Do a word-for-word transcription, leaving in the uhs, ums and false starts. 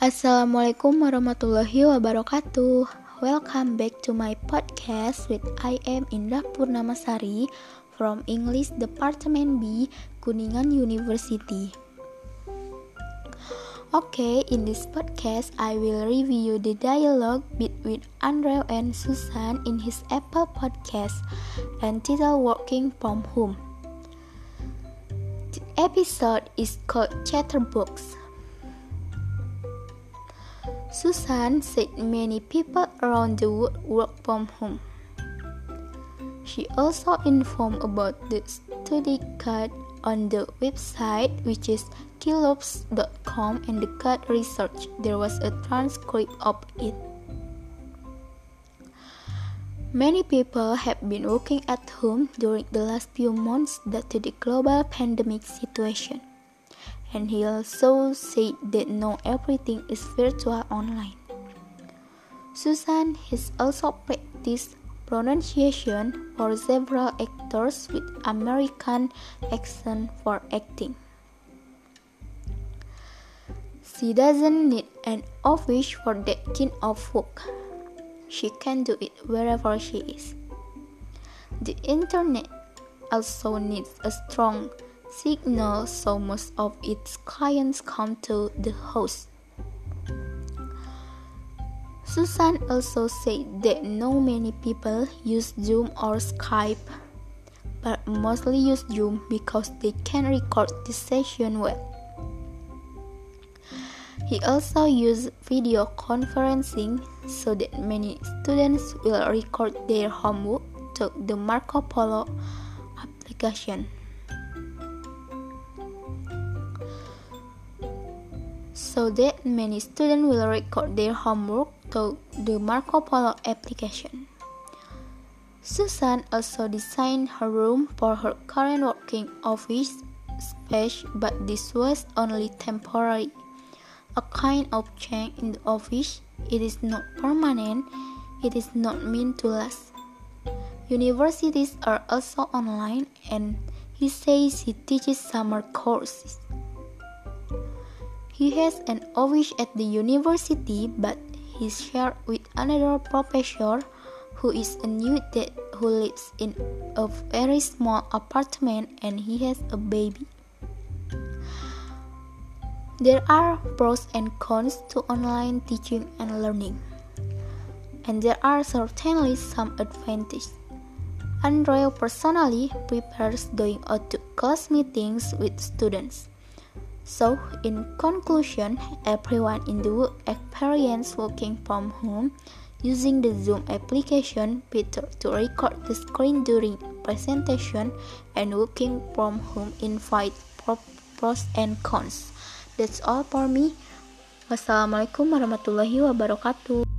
Assalamualaikum warahmatullahi wabarakatuh. Welcome back to my podcast with I am Indah Purnamasari from English Department B, Kuningan University. Okay, in this podcast I will review the dialogue between Andrew and Susan in his Apple podcast entitled Working from Home. The episode is called Chatterbox. Susan said many people around the world work from home. She also informed about the study guide on the website, which is Kilops dot com, and the guide research. There was a transcript of it. Many people have been working at home during the last few months due to the global pandemic situation. And he also said that not everything is virtual online. Susan has also practiced pronunciation for several actors with American accent for acting. She doesn't need an office for that kind of work. She can do it wherever she is. The internet also needs a strong signal, so most of its clients come to the house. Susan also said that not many people use Zoom or Skype, but mostly use Zoom because they can record the session well. He also used video conferencing so that many students will record their homework to the Marco Polo application. So that many students will record their homework to the Marco Polo application. Susan also designed her room for her current working office space, but this was only temporary, a kind of change in the office. It is not permanent, it is not meant to last. Universities are also online, and he says he teaches summer courses. He has an office at the university, but he shared with another professor who is a new dad who lives in a very small apartment, and he has a baby. There are pros and cons to online teaching and learning, and there are certainly some advantages. Andrew personally prefers going out to class meetings with students. So, in conclusion, everyone in the work experience working from home using the Zoom application better to record the screen during presentation, and working from home invite pros and cons. That's all for me. Wassalamualaikum warahmatullahi wabarakatuh.